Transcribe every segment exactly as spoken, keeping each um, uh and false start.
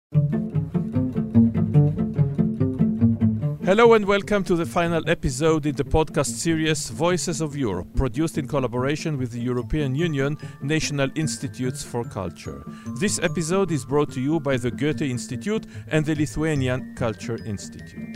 Hello and welcome to the final episode in the podcast series Voices of Europe, produced in collaboration with the European Union National Institutes for Culture. This episode is brought to you by the Goethe Institute and the Lithuanian Culture Institute.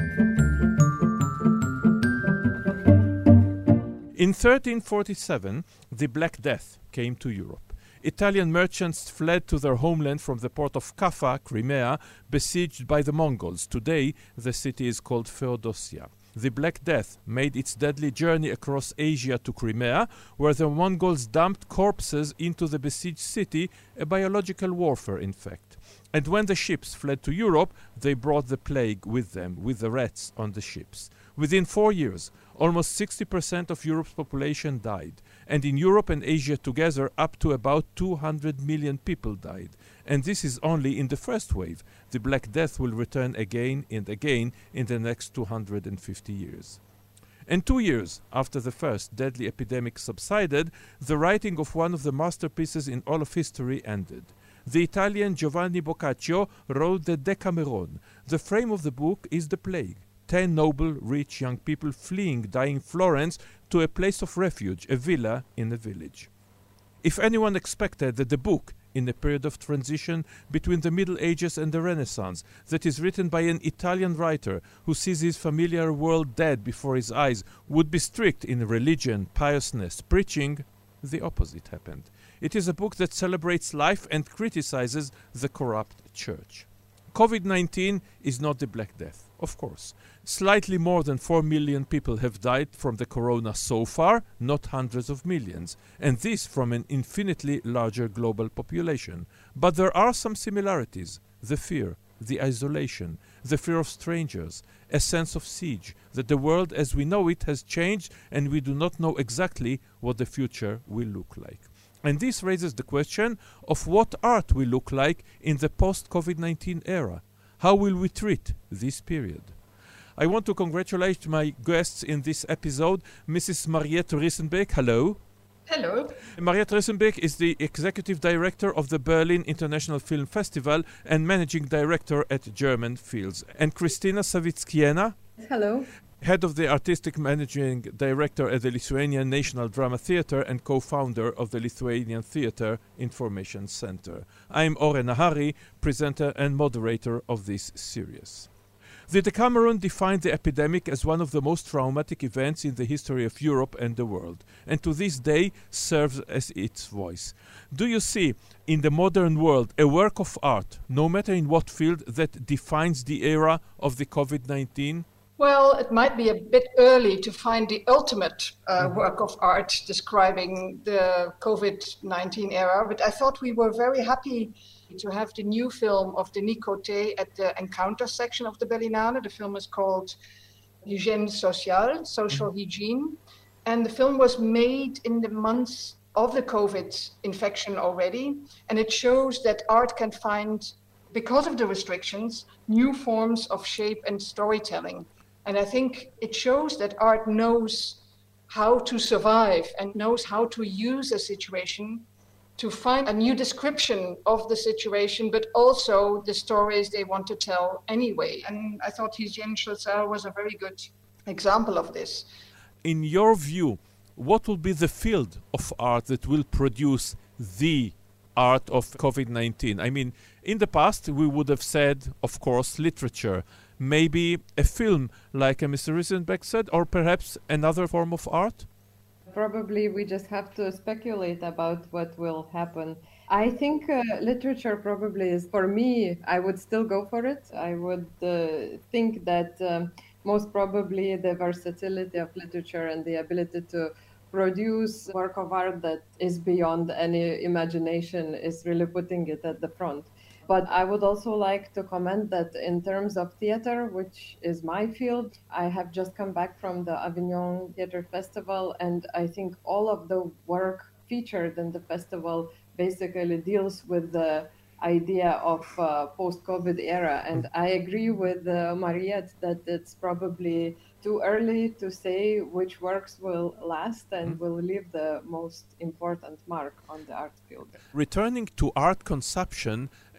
In thirteen forty-seven, the Black Death came to Europe. Italian merchants fled to their homeland from the port of Kaffa, Crimea, besieged by the Mongols. Today, the city is called Feodosia. The Black Death made its deadly journey across Asia to Crimea, where the Mongols dumped corpses into the besieged city, a biological warfare, in fact. And when the ships fled to Europe, they brought the plague with them, with the rats on the ships. Within four years, almost sixty percent of Europe's population died. And in Europe and Asia together, up to about two hundred million people died. And this is only in the first wave. The Black Death will return again and again in the next two hundred fifty years. And two years after the first deadly epidemic subsided, the writing of one of the masterpieces in all of history ended. The Italian Giovanni Boccaccio wrote the Decameron. The frame of the book is the plague. Ten noble, rich young people fleeing dying Florence to a place of refuge, a villa in a village. If anyone expected that the book, in a period of transition between the Middle Ages and the Renaissance, that is written by an Italian writer who sees his familiar world dead before his eyes, would be strict in religion, piousness, preaching, the opposite happened. It is a book that celebrates life and criticizes the corrupt church. covid nineteen is not the Black Death, of course. Slightly more than four million people have died from the corona so far, not hundreds of millions, and this from an infinitely larger global population. But there are some similarities: the fear, the isolation, the fear of strangers, a sense of siege, that the world as we know it has changed and we do not know exactly what the future will look like. And this raises the question of what art will look like in the post-covid nineteen era. How will we treat this period? I want to congratulate my guests in this episode, Missus Mariette Rissenbeek. Hello. Hello. Mariette Rissenbeek is the Executive Director of the Berlin International Film Festival and Managing Director at German Fields. And Kristina Savickienė. Hello. Head of the Artistic Managing Director at the Lithuanian National Drama Theatre and co-founder of the Lithuanian Theatre Information Center. I'm Oren Nahari, presenter and moderator of this series. The Decameron defined the epidemic as one of the most traumatic events in the history of Europe and the world, and to this day serves as its voice. Do you see in the modern world a work of art, no matter in what field, that defines the era of the covid nineteen? Well, it might be a bit early to find the ultimate uh, mm-hmm. work of art describing the covid nineteen era, but I thought we were very happy to have the new film of Denis Coté at the Encounter section of the Berlinale. The film is called Hygiène Sociale, Social mm-hmm. Hygiene, and the film was made in the months of the COVID infection already, and it shows that art can find, because of the restrictions, new forms of shape and storytelling. And I think it shows that art knows how to survive and knows how to use a situation to find a new description of the situation, but also the stories they want to tell anyway. And I thought Hygiène Sociale was a very good example of this. In your view, what will be the field of art that will produce the art of covid nineteen? I mean, in the past, we would have said, of course, literature, maybe a film, like Mister Rissenbeek said, or perhaps another form of art? Probably we just have to speculate about what will happen. I think uh, literature probably is, for me, I would still go for it. I would uh, think that um, most probably the versatility of literature and the ability to produce work of art that is beyond any imagination is really putting it at the front. But I would also like to comment that in terms of theater, which is my field, I have just come back from the Avignon Theatre Festival, and I think all of the work featured in the festival basically deals with the idea of uh, post-COVID era. And I agree with uh, Mariette that it's probably too early to say which works will last and will leave the most important mark on the art field. Returning to art consumption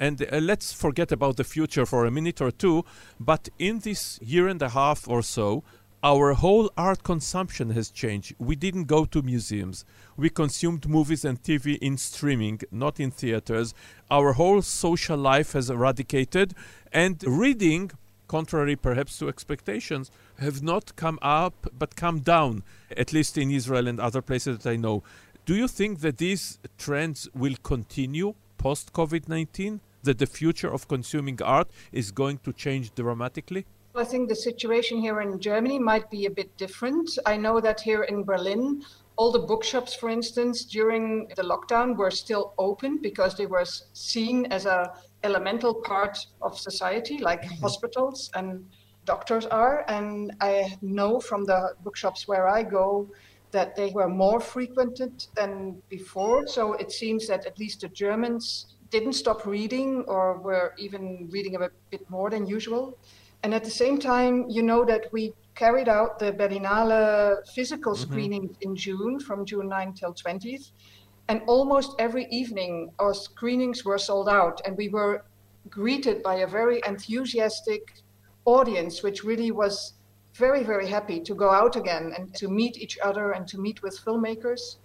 And uh, let's forget about the future for a minute or two. But in this year and a half or so, our whole art consumption has changed. We didn't go to museums. We consumed movies and T V in streaming, not in theaters. Our whole social life has eradicated. And reading, contrary perhaps to expectations, have not come up but come down, at least in Israel and other places that I know. Do you think that these trends will continue post-COVID nineteen? That the future of consuming art is going to change dramatically? I think the situation here in Germany might be a bit different. I know that here in Berlin, all the bookshops, for instance, during the lockdown were still open because they were seen as an elemental part of society, like mm-hmm. hospitals and doctors are. And I know from the bookshops where I go that they were more frequented than before. So it seems that at least the Germans didn't stop reading or were even reading a bit more than usual. And at the same time, you know that we carried out the Berlinale physical mm-hmm. screenings in June, from June ninth till twentieth. And almost every evening, our screenings were sold out. And we were greeted by a very enthusiastic audience, which really was very, very happy to go out again and to meet each other and to meet with filmmakers.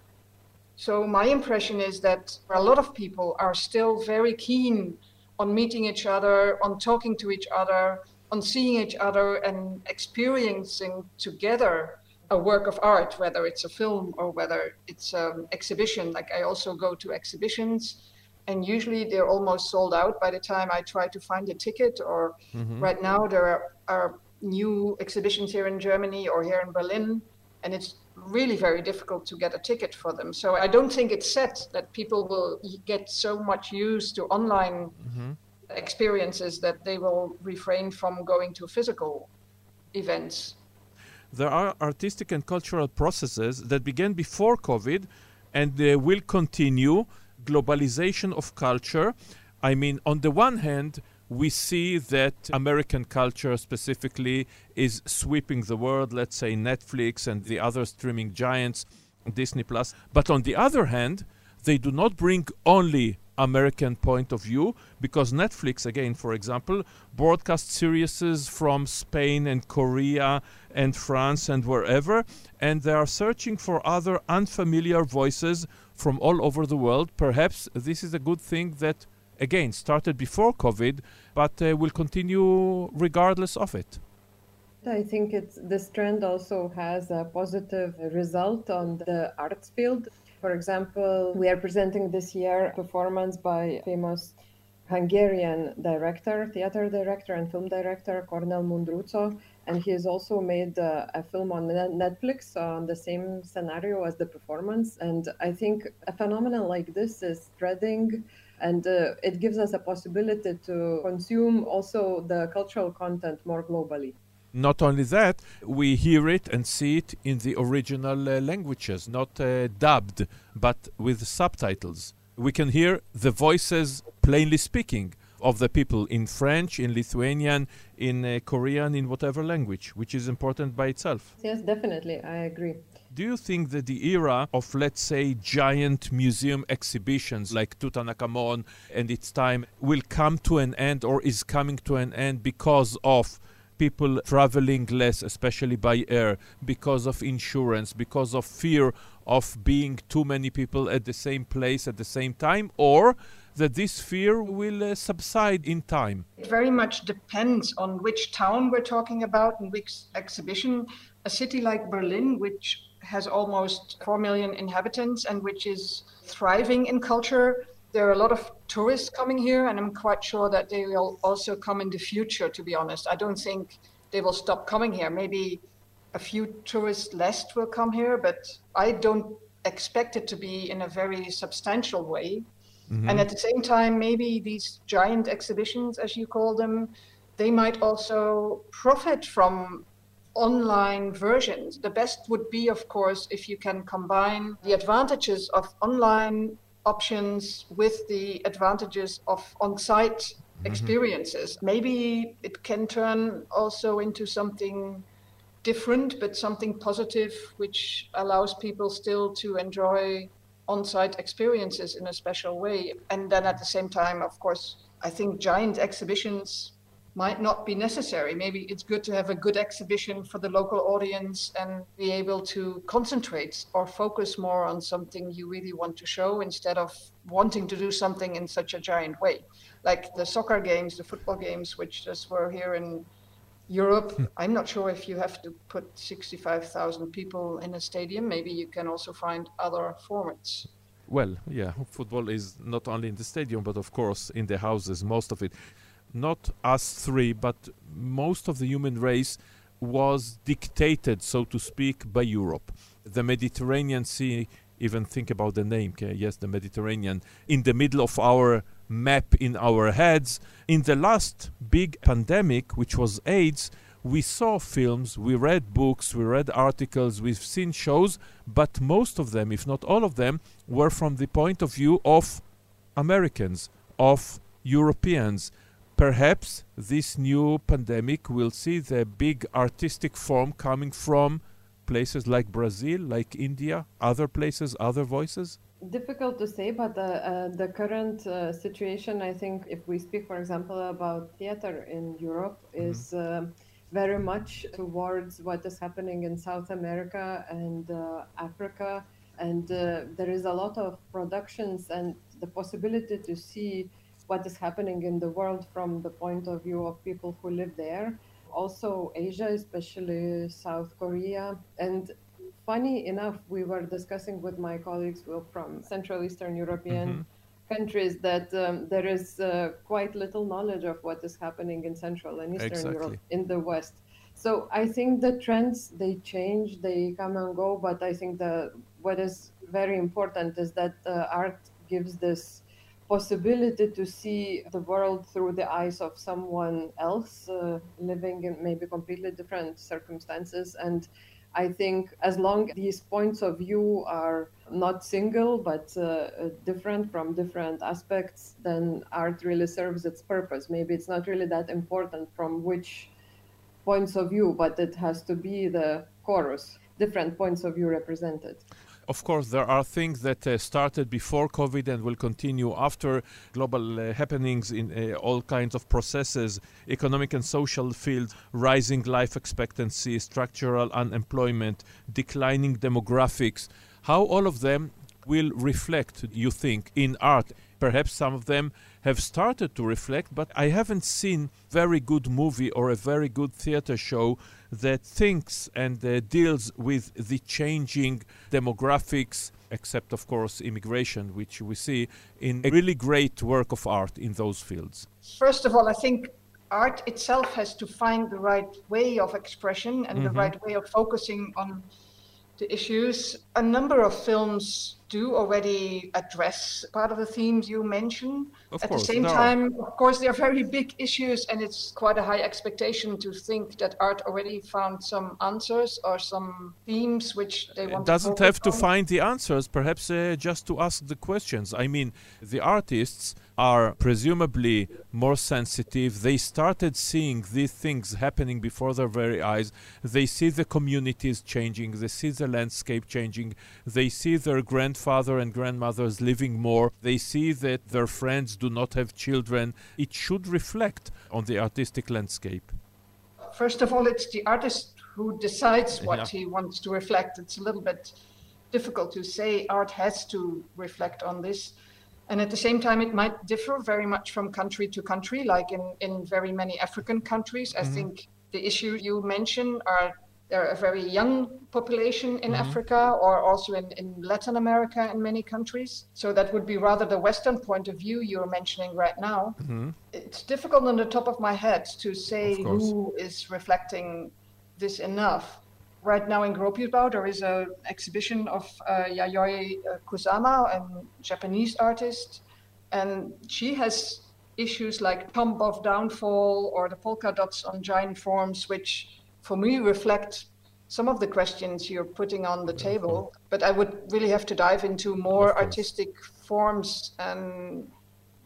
So my impression is that a lot of people are still very keen on meeting each other, on talking to each other, on seeing each other and experiencing together a work of art, whether it's a film or whether it's an exhibition. Like I also go to exhibitions and usually they're almost sold out by the time I try to find a ticket. Or mm-hmm. right now there are, are new exhibitions here in Germany or here in Berlin, and it's really very difficult to get a ticket for them. So I don't think it's set that people will get so much used to online mm-hmm. experiences that they will refrain from going to physical events. There are artistic and cultural processes that began before COVID and they will continue. Globalization of culture. I mean, on the one hand, we see that American culture specifically is sweeping the world, let's say Netflix and the other streaming giants, Disney Plus. But on the other hand, they do not bring only American point of view, because Netflix, again, for example, broadcasts series from Spain and Korea and France and wherever, and they are searching for other unfamiliar voices from all over the world. Perhaps this is a good thing that, again, started before COVID, but uh, will continue regardless of it. I think it's this trend also has a positive result on the arts field. For example, we are presenting this year a performance by a famous Hungarian director, theater director and film director, Cornel Mundruczó, and he has also made uh, a film on Netflix on the same scenario as the performance. And I think a phenomenon like this is spreading, and uh, it gives us a possibility to consume also the cultural content more globally. Not only that, we hear it and see it in the original uh, languages, not uh, dubbed, but with subtitles. We can hear the voices plainly speaking of the people in French, in Lithuanian, in uh, Korean, in whatever language, which is important by itself. Yes, definitely. I agree. Do you think that the era of, let's say, giant museum exhibitions like Tutankhamun and its time will come to an end, or is coming to an end because of people traveling less, especially by air, because of insurance, because of fear of being too many people at the same place at the same time, or that this fear will uh, subside in time? It very much depends on which town we're talking about and which exhibition. A city like Berlin, which has almost four million inhabitants and which is thriving in culture, there are a lot of tourists coming here, and I'm quite sure that they will also come in the future, to be honest. I don't think they will stop coming here. Maybe a few tourists less will come here, but I don't expect it to be in a very substantial way. Mm-hmm. And at the same time, maybe these giant exhibitions, as you call them, they might also profit from online versions. The best would be, of course, if you can combine the advantages of online options with the advantages of on-site mm-hmm. experiences. Maybe it can turn also into something different, but something positive, which allows people still to enjoy on-site experiences in a special way. And then at the same time, of course, I think giant exhibitions might not be necessary. Maybe it's good to have a good exhibition for the local audience and be able to concentrate or focus more on something you really want to show instead of wanting to do something in such a giant way. Like the soccer games, the football games, which just were here in Europe. I'm not sure if you have to put sixty-five thousand people in a stadium. Maybe you can also find other formats. Well, yeah, football is not only in the stadium, but of course in the houses, most of it. Not us three, but most of the human race was dictated, so to speak, by Europe. The Mediterranean Sea, even think about the name, okay? Yes, the Mediterranean, in the middle of our map in our heads. In the last big pandemic, which was AIDS, we saw films, we read books, we read articles, we've seen shows, but most of them, if not all of them, were from the point of view of Americans, of Europeans. Perhaps this new pandemic will see the big artistic form coming from places like Brazil, like India, other places, other voices? Difficult to say, but uh, uh, the current uh, situation, I think, if we speak, for example, about theater in Europe, mm-hmm. is uh, very much towards what is happening in South America and uh, Africa. And uh, there is a lot of productions and the possibility to see what is happening in the world from the point of view of people who live there. Also Asia, especially South Korea. And funny enough, we were discussing with my colleagues from Central Eastern European mm-hmm. countries that um, there is uh, quite little knowledge of what is happening in Central and Eastern exactly. Europe in the West. So I think the trends, they change, they come and go, but I think the what is very important is that uh, art gives this possibility to see the world through the eyes of someone else uh, living in maybe completely different circumstances. And I think as long as these points of view are not single but uh, different from different aspects, then art really serves its purpose. Maybe it's not really that important from which points of view, but it has to be the chorus, different points of view represented. Of course, there are things that uh, started before COVID and will continue after global uh, happenings in uh, all kinds of processes, economic and social fields, rising life expectancy, structural unemployment, declining demographics. How all of them will reflect, you think, in art? Perhaps some of them have started to reflect, but I haven't seen a very good movie or a very good theater show that thinks and uh, deals with the changing demographics, except, of course, immigration, which we see in a really great work of art in those fields. First of all, I think art itself has to find the right way of expression and mm-hmm. the right way of focusing on the issues. A number of films do already address part of the themes you mentioned. Of At course, the same no. time, of course, they're very big issues, and it's quite a high expectation to think that art already found some answers or some themes which they want it doesn't to have to on. find the answers, perhaps uh, just to ask the questions. I mean, the artists are presumably more sensitive. They started seeing these things happening before their very eyes. They see the communities changing. They see the landscape changing. They see their grandfather and grandmothers living more. They see that their friends do not have children. It should reflect on the artistic landscape. First of all, it's the artist who decides what yeah. he wants to reflect. It's a little bit difficult to say art has to reflect on this. And at the same time, it might differ very much from country to country, like in, in very many African countries. Mm-hmm. I think the issues you mentioned are there are a very young population in mm-hmm. Africa, or also in, in Latin America in many countries. So that would be rather the Western point of view you're mentioning right now. Mm-hmm. It's difficult on the top of my head to say who is reflecting this enough. Right now in Gro-Piedbouw, there is an exhibition of uh, Yayoi Kusama, a Japanese artist, and she has issues like Tomb of Downfall or the polka dots on giant forms, which for me reflect some of the questions you're putting on the table. But I would really have to dive into more artistic forms and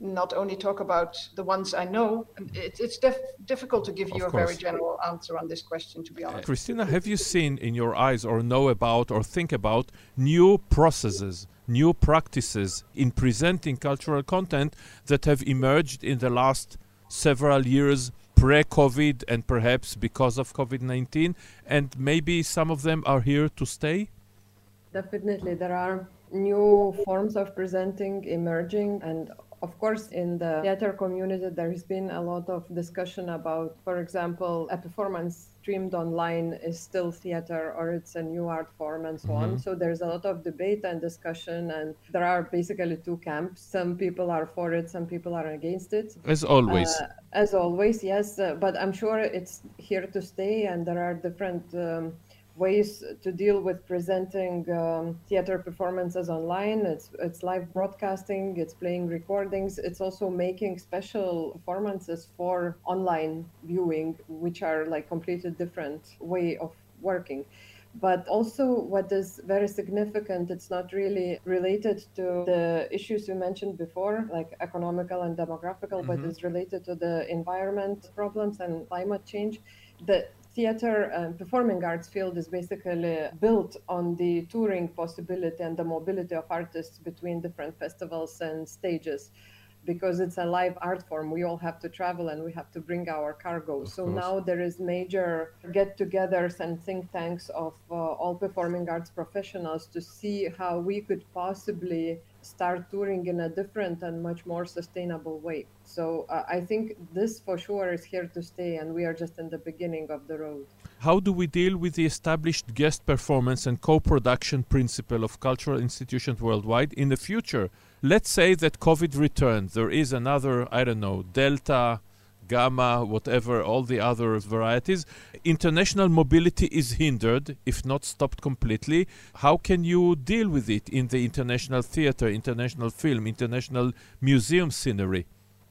not only talk about the ones I know. It, it's def- difficult to give you Of a very course. general answer on this question, to be honest. Christina, have you seen in your eyes or know about or think about new processes, new practices in presenting cultural content that have emerged in the last several years, pre-COVID and perhaps because of COVID nineteen, and maybe some of them are here to stay? Definitely, there are new forms of presenting emerging, and of course, in the theater community, there has been a lot of discussion about, for example, a performance streamed online is still theater or it's a new art form and so Mm-hmm. on. So there's a lot of debate and discussion, and there are basically two camps. Some people are for it, some people are against it. As always. Uh, as always, yes, uh, but I'm sure it's here to stay, and there are different um, ways to deal with presenting um, theater performances online. It's it's live broadcasting, it's playing recordings, it's also making special performances for online viewing, which are like completely different way of working. But also what is very significant, it's not really related to the issues you mentioned before, like economical and demographical, Mm-hmm. but it's related to the environment problems and climate change. The theater and performing arts field is basically built on the touring possibility and the mobility of artists between different festivals and stages. Because it's a live art form, we all have to travel and we have to bring our cargo. Of So course. now there is major get-togethers and think tanks of uh, all performing arts professionals to see how we could possibly start touring in a different and much more sustainable way. So uh, I think this for sure is here to stay, and we are just in the beginning of the road. How do we deal with the established guest performance and co-production principle of cultural institutions worldwide in the future? Let's say that COVID returns. There is another, I don't know, Delta, Gamma, whatever, all the other varieties. International mobility is hindered, if not stopped completely. How can you deal with it in the international theater, international film, international museum scenery?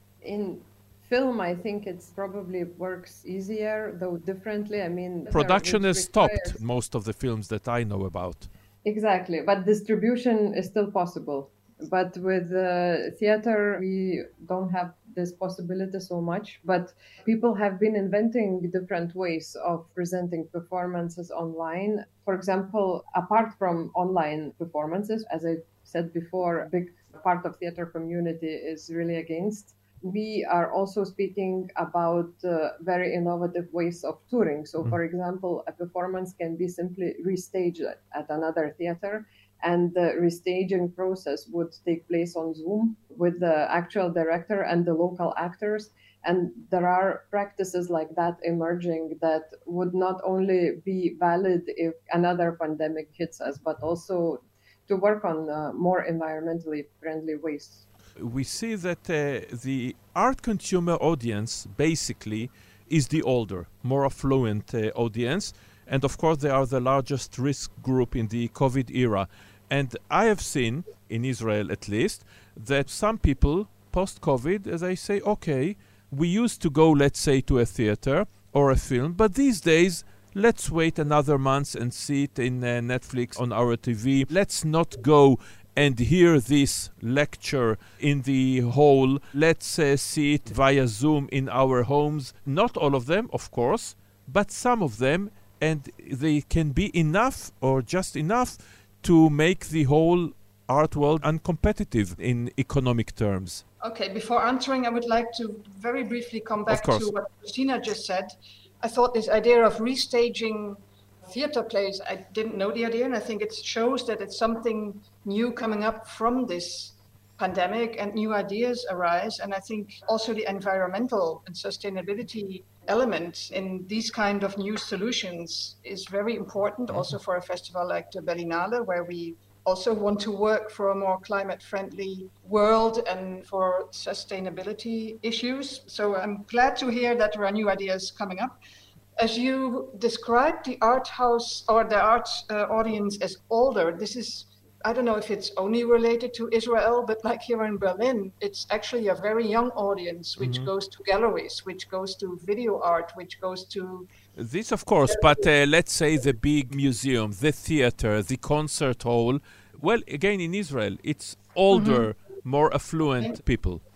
In film, I think it's probably works easier, though differently. I mean, Production which has stopped requires- most of the films that I know about. Exactly, but distribution is still possible. But with uh, theater, we don't have this possibility so much. But people have been inventing different ways of presenting performances online. For example, apart from online performances, as I said before, a big part of theater community is really against. We are also speaking about uh, very innovative ways of touring. So, for example, a performance can be simply restaged at, at another theater, and the restaging process would take place on Zoom with the actual director and the local actors. And there are practices like that emerging that would not only be valid if another pandemic hits us, but also to work on uh, more environmentally friendly ways. We see that uh, the art consumer audience basically is the older, more affluent uh, audience. And of course, they are the largest risk group in the COVID era. And I have seen, in Israel at least, that some people post-COVID, as I say, okay, we used to go, let's say, to a theater or a film, but these days, let's wait another month and see it in uh, Netflix on our T V. Let's not go and hear this lecture in the hall. Let's uh, see it via Zoom in our homes. Not all of them, of course, but some of them, and they can be enough or just enough to make the whole art world uncompetitive in economic terms. Okay, before answering, I would like to very briefly come back to what Christina just said. I thought this idea of restaging theater plays, I didn't know the idea, and I think it shows that it's something new coming up from this pandemic and new ideas arise. And I think also the environmental and sustainability element in these kind of new solutions is very important, also for a festival like the Berlinale, where we also want to work for a more climate-friendly world and for sustainability issues. So I'm glad to hear that there are new ideas coming up. As you described the art house or the art uh, audience as older, this is, I don't know if it's only related to Israel, but like here in Berlin, it's actually a very young audience, which mm-hmm. goes to galleries, which goes to video art, which goes to... This, of course, but uh, let's say the big museum, the theater, the concert hall. Well, again, in Israel, it's older, mm-hmm. more affluent people.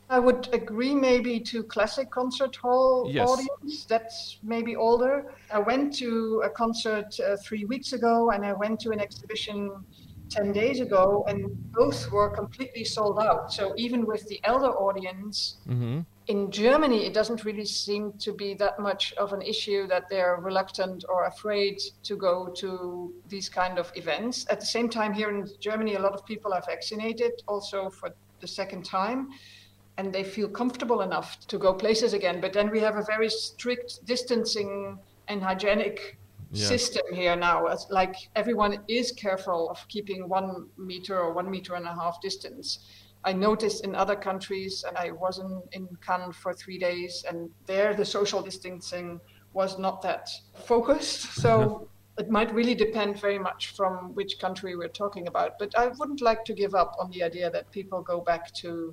I would agree maybe to classic concert hall Yes. audience. That's maybe older. I went to a concert uh, three weeks ago, and I went to an exhibition ten days ago, and both were completely sold out. So even with the elder audience, Mm-hmm. in Germany, it doesn't really seem to be that much of an issue that they're reluctant or afraid to go to these kind of events. At the same time, here in Germany, a lot of people are vaccinated also for the second time, and they feel comfortable enough to go places again. But then we have a very strict distancing and hygienic Yeah. system here now. It's like everyone is careful of keeping one meter or one meter and a half distance. I noticed in other countries, and I was in, in Cannes for three days, and there the social distancing was not that focused. So it might really depend very much from which country we're talking about. But I wouldn't like to give up on the idea that people go back to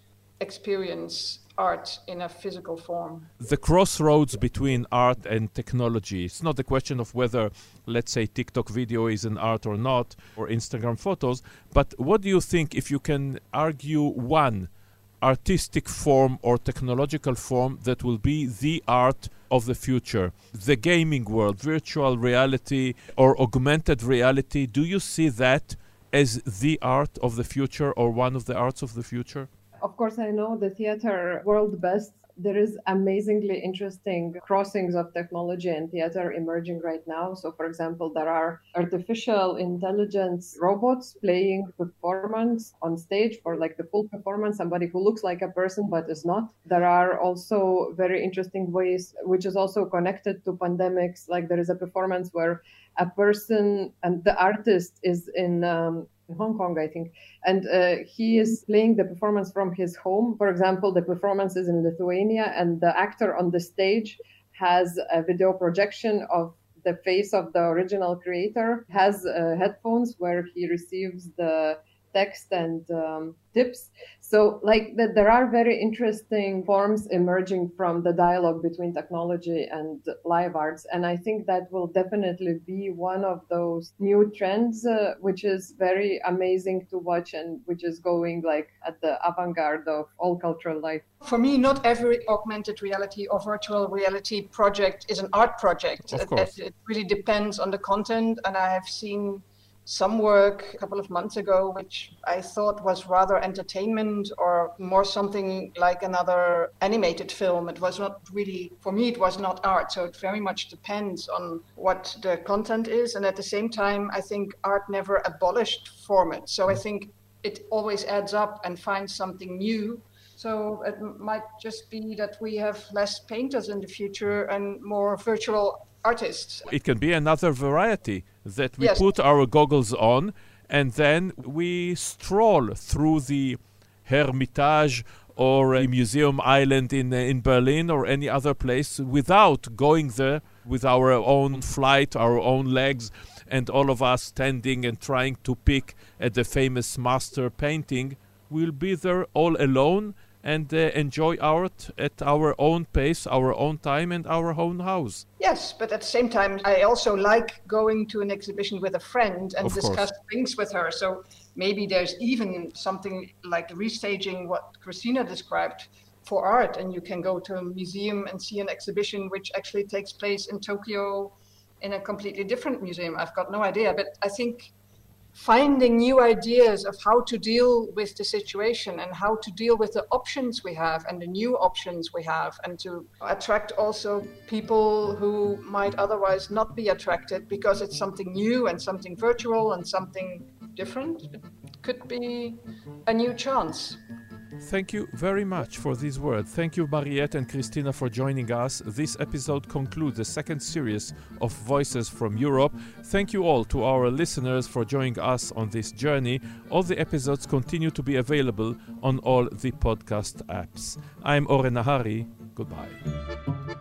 experience art in a physical form. The crossroads between art and technology. It's not a question of whether, let's say, TikTok video is an art or not, or Instagram photos, but what do you think if you can argue one artistic form or technological form that will be the art of the future? The gaming world, virtual reality or augmented reality, do you see that as the art of the future or one of the arts of the future? Of course, I know the theater world best. There is amazingly interesting crossings of technology and theater emerging right now. So, for example, there are artificial intelligence robots playing performance on stage for like the full performance, somebody who looks like a person but is not. There are also very interesting ways, which is also connected to pandemics. Like there is a performance where a person and the artist is in um, in Hong Kong, I think, and uh, he is playing the performance from his home. For example, the performance is in Lithuania, and the actor on the stage has a video projection of the face of the original creator, has uh, headphones where he receives the text and um, tips. So like that, there are very interesting forms emerging from the dialogue between technology and live arts. And I think that will definitely be one of those new trends, uh, which is very amazing to watch and which is going like at the avant-garde of all cultural life. For me, not every augmented reality or virtual reality project is an art project. Of course. It, it really depends on the content. And I have seen some work a couple of months ago, which I thought was rather entertainment or more something like another animated film. It was not really, for me, it was not art. So it very much depends on what the content is. And at the same time, I think art never abolished format. So I think it always adds up and finds something new. So it might just be that we have less painters in the future and more virtual artists. It can be another variety that we Yes. put our goggles on and then we stroll through the Hermitage or a Museum Island in, uh, in Berlin or any other place without going there with our own flight, our own legs, and all of us standing and trying to pick at the famous master painting. We'll be there all alone and uh, enjoy art at our own pace, our own time, and our own house. Yes, but at the same time, I also like going to an exhibition with a friend and Of course. discuss things with her. So maybe there's even something like restaging what Christina described for art, and you can go to a museum and see an exhibition which actually takes place in Tokyo in a completely different museum. I've got no idea, but I think finding new ideas of how to deal with the situation and how to deal with the options we have and the new options we have, and to attract also people who might otherwise not be attracted because it's something new and something virtual and something different. It could be a new chance. Thank you very much for these words. Thank you, Mariette and Christina, for joining us. This episode concludes the second series of Voices from Europe. Thank you all to our listeners for joining us on this journey. All the episodes continue to be available on all the podcast apps. I'm Oren Nahari. Goodbye.